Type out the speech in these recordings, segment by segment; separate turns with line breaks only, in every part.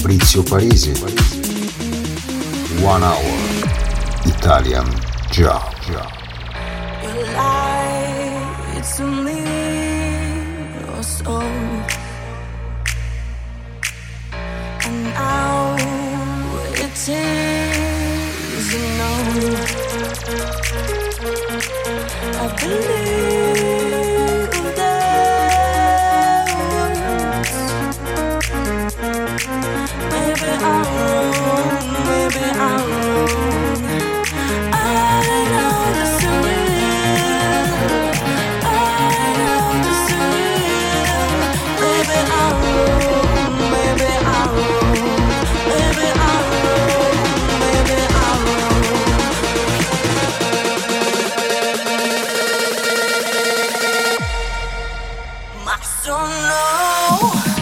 Fabrizio Parisi. 1 hour Italian Job.
You lied to me, or so. And now it is a no. I believe there was. Maybe I'm wrong, maybe I'm wrong. I know this is real. I know this is real. Maybe I'm wrong, maybe I'm wrong. Maybe I'm wrong, maybe I'm wrong. I don't know.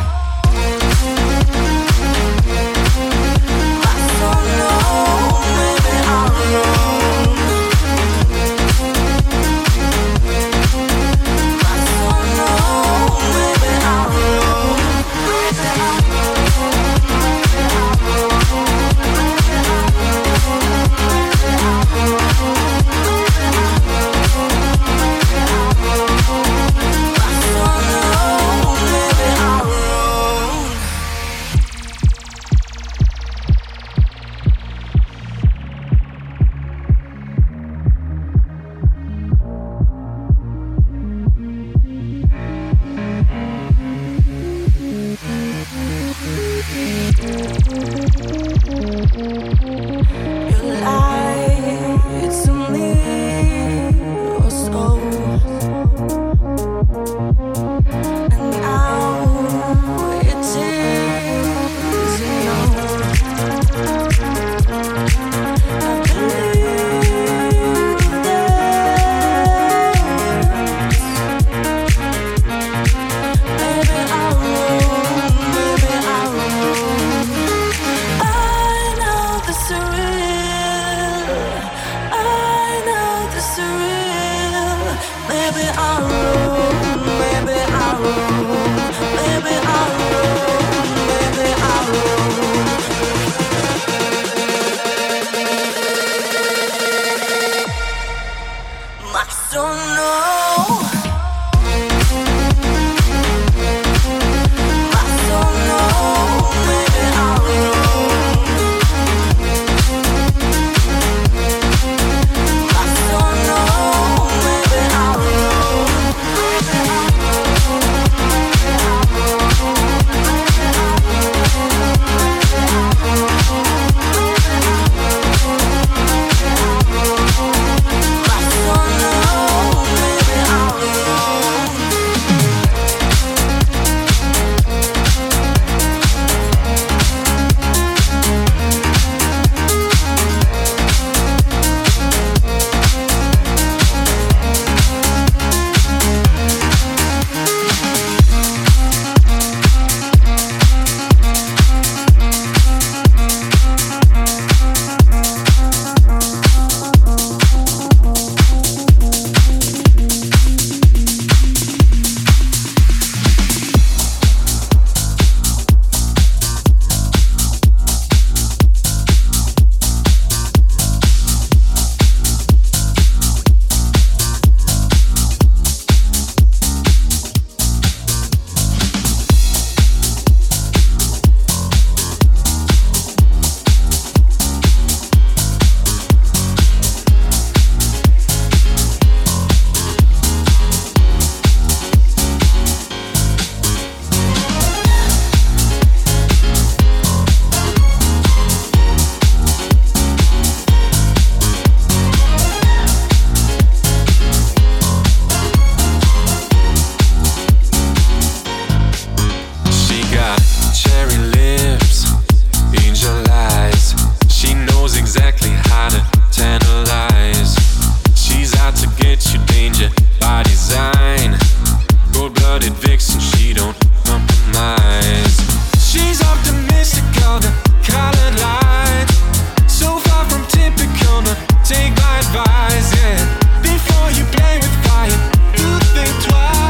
I don't know. Maybe I'm wrong. I don't know. Maybe I'm wrong.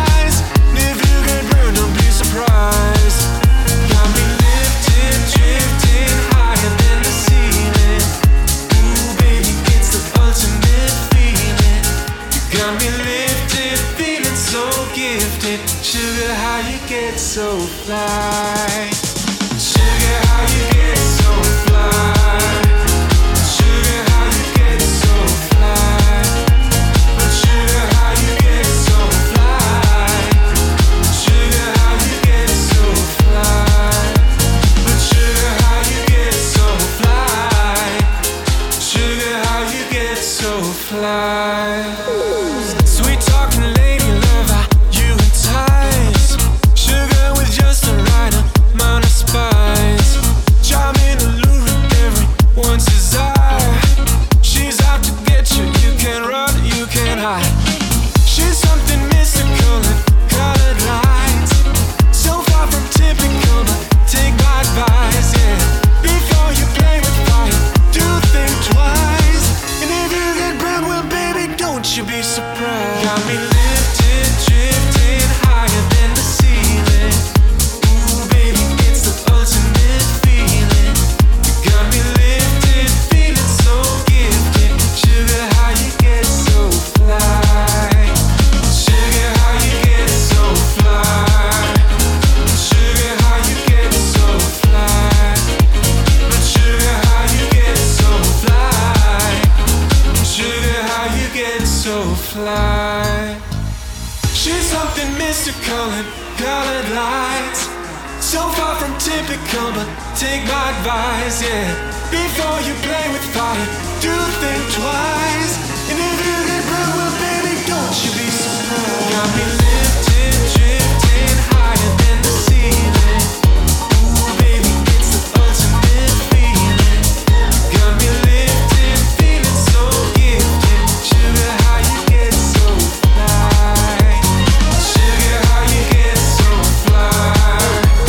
Got me lifted, drifting. so fly? Sugar, how you get so fly? Sugar, how you get so fly? But sugar, how you get so fly? Sugar, how you get so fly? But sugar, how you get so fly? Sugar, how you get so fly? Sweet talking lady lover, you entice. Sugar with just the right amount of spice. Charming, alluring, everyone's desire. She's out to get you, you can't run, you can't hide. She's something mystical and colored lights. So far from typical, but take my advice, yeah. Before you play with fire, do think twice. And if you get burned, well baby, don't you be surprised. Got me lifted, drifting higher than the ceiling. Ooh baby, it's the ultimate feeling. You got me lifted, feeling so gifted. Sugar, how you get so fly? Sugar, how you get so fly? Sugar, how you get so fly? But sugar, how you get so fly? Sugar, how you get so fly? She's something mystical and colored lights. So far from typical, but take my advice, yeah. Before you play with fire, do think twice. And if you get burned, well baby, don't you be surprised. Got me lifted, drifting higher than the ceiling. Ooh baby, it's the ultimate feeling. Got me lifted, feeling so gifted. Sugar, how you get so fly? Sugar, how you get so fly?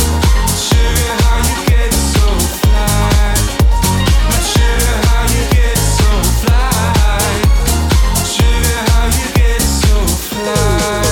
Sugar, how you get so fly? But sugar, how you get so fly? Sugar, how you get so fly?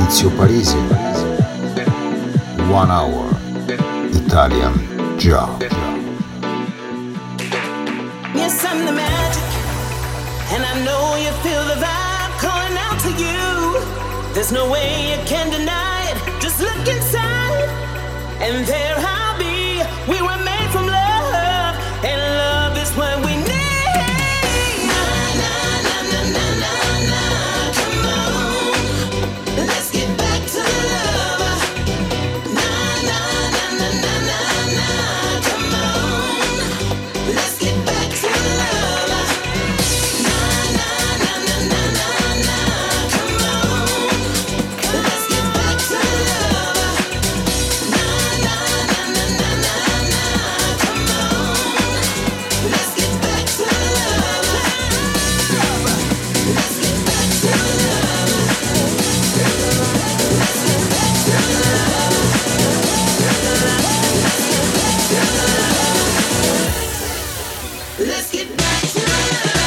Maurizio Parisi. 1 hour Italian Job.
Yes, I'm the magic, and I know you feel the vibe calling out to you. There's no way you can deny it. Just look inside, and there I'll be. We were made from love, and love is what we need. Na na na na na na na. Come on, let's get back to love. Na na na na na na na. Come on, let's get back to love. Na na na na na na na. Come on, let's get back to love. Na na na na na na na. Come on, let's get back to love. Let's get back to love. Let's get back to love. Let's get back to love.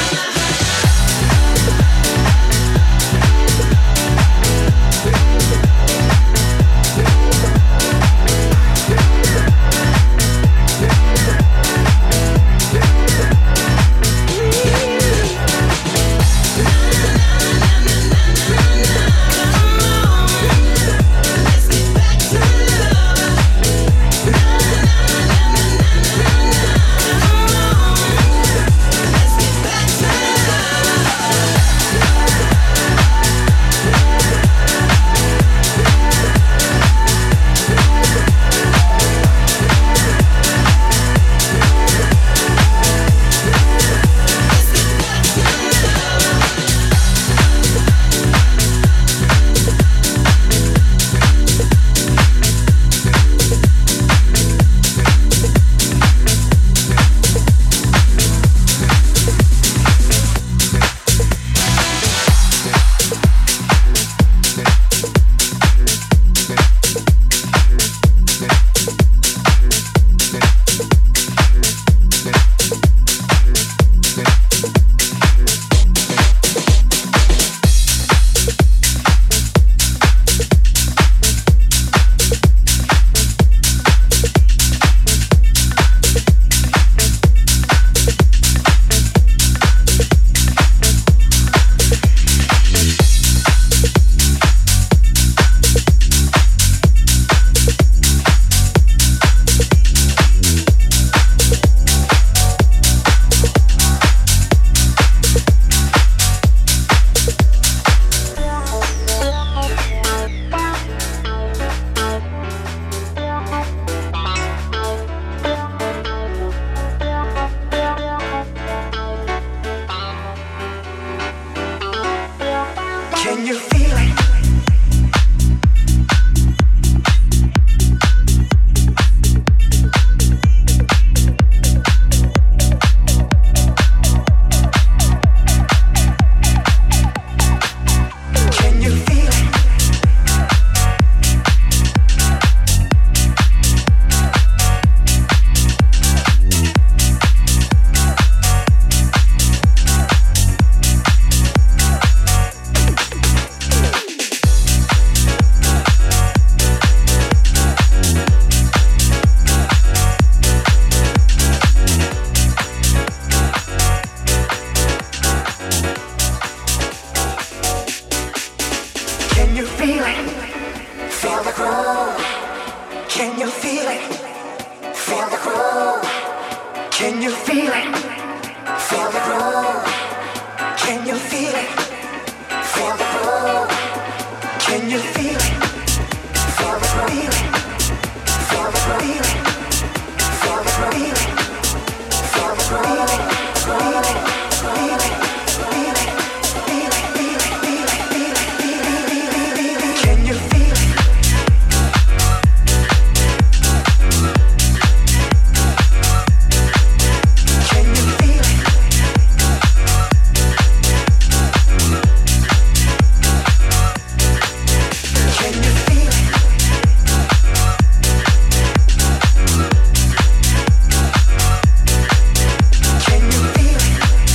Can you feel it? Can you feel it? Can you feel it? Feel the groove. Can you feel it? Feel the groove. Can you feel it? Feel the groove. Can you feel it? Feel the groove. Can you feel it? Feel the groove. Feel the groove. Feel the groove. Feel the groove. Feel it. Feel it. Feel it. Feel it. Feel it. Feel it. Feel it. Feel it. Can you feel it? Can you feel it? Can you feel it? Can you feel it?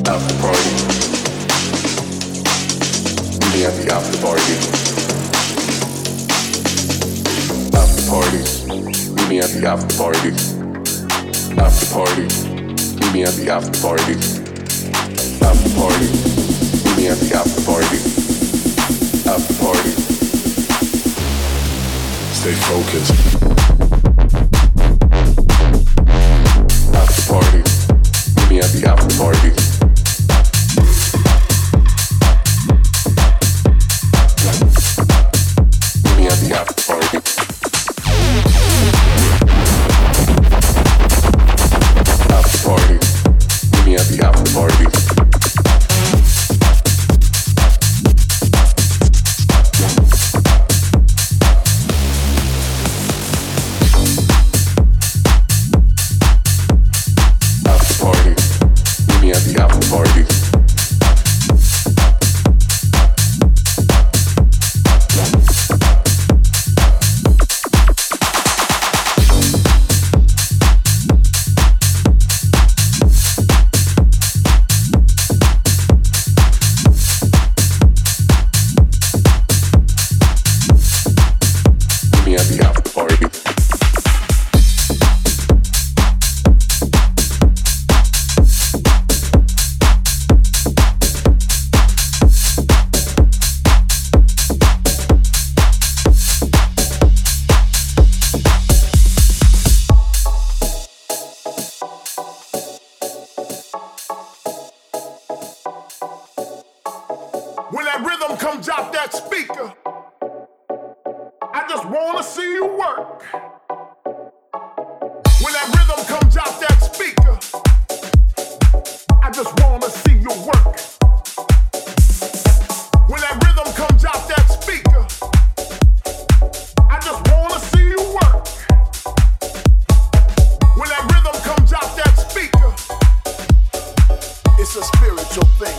After party. Meet me at the after party. After party. Meet me at the after party. After party. Meet me at the after party. After party. Meet me at the after party. After party. Stay focused. After party. Meet me at the after party. Meet me at the after party. After party. Meet me at the after party.
When that rhythm comes out that speaker, I just wanna see you work. When that rhythm comes out that speaker, I just wanna see you work. When that rhythm comes out that speaker, I just wanna see you work. When that rhythm comes out that speaker, it's a spiritual thing.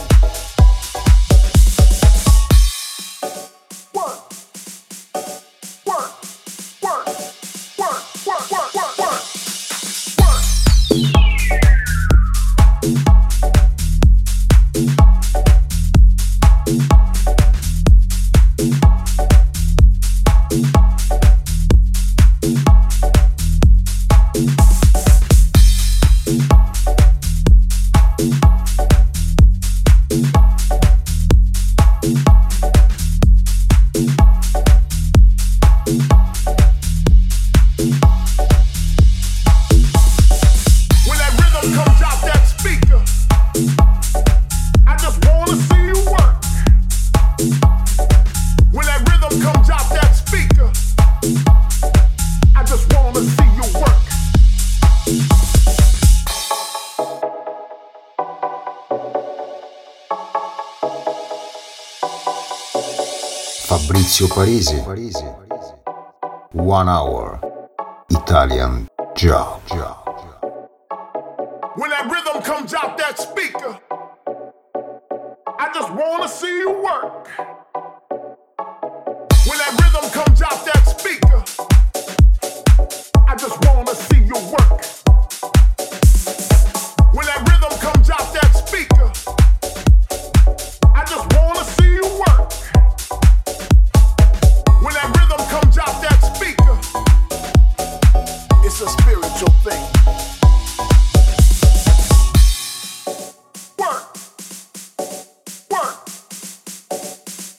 Fabrizio Parisi. 1 hour Italian job.
When that rhythm comes out that speaker, I just wanna see you work. When that rhythm comes out that speaker, I just wanna see you work. When that rhythm comes out that speaker, I just wanna see you work. When that rhythm comes out that speaker, it's a spiritual thing. Work, work,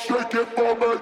shake it for me.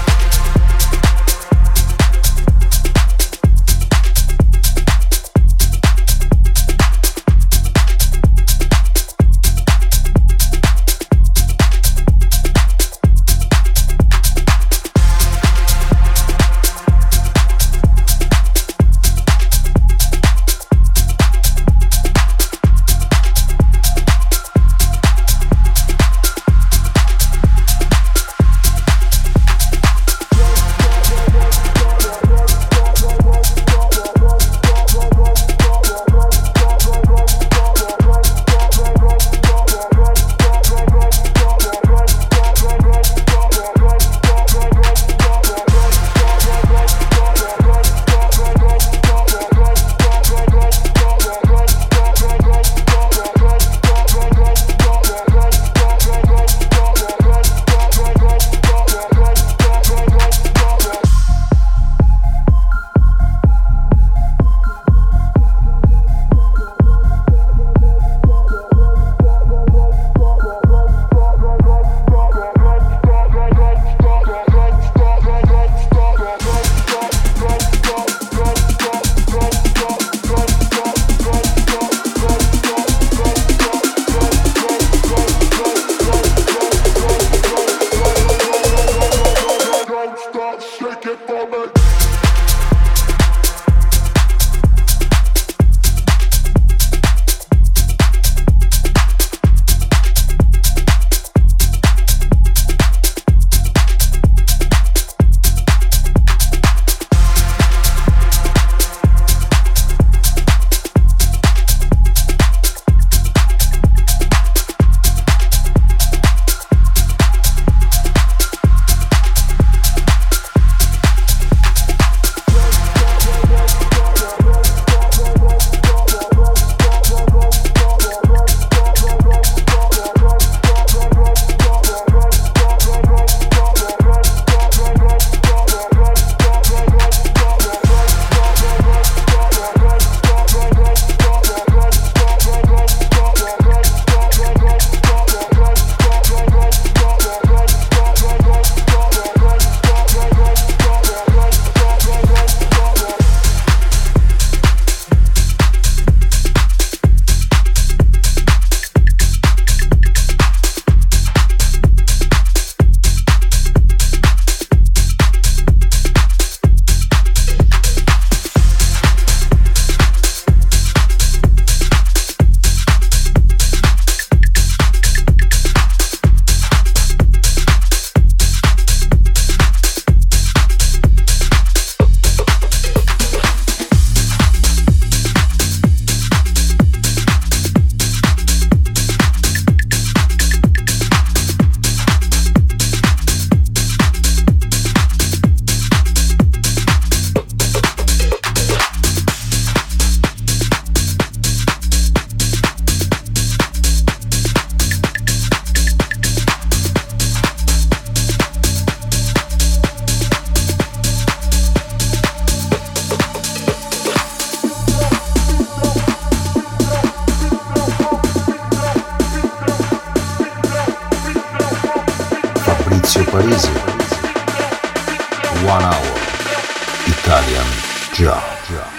Parisi, 1 Hour Italian Job.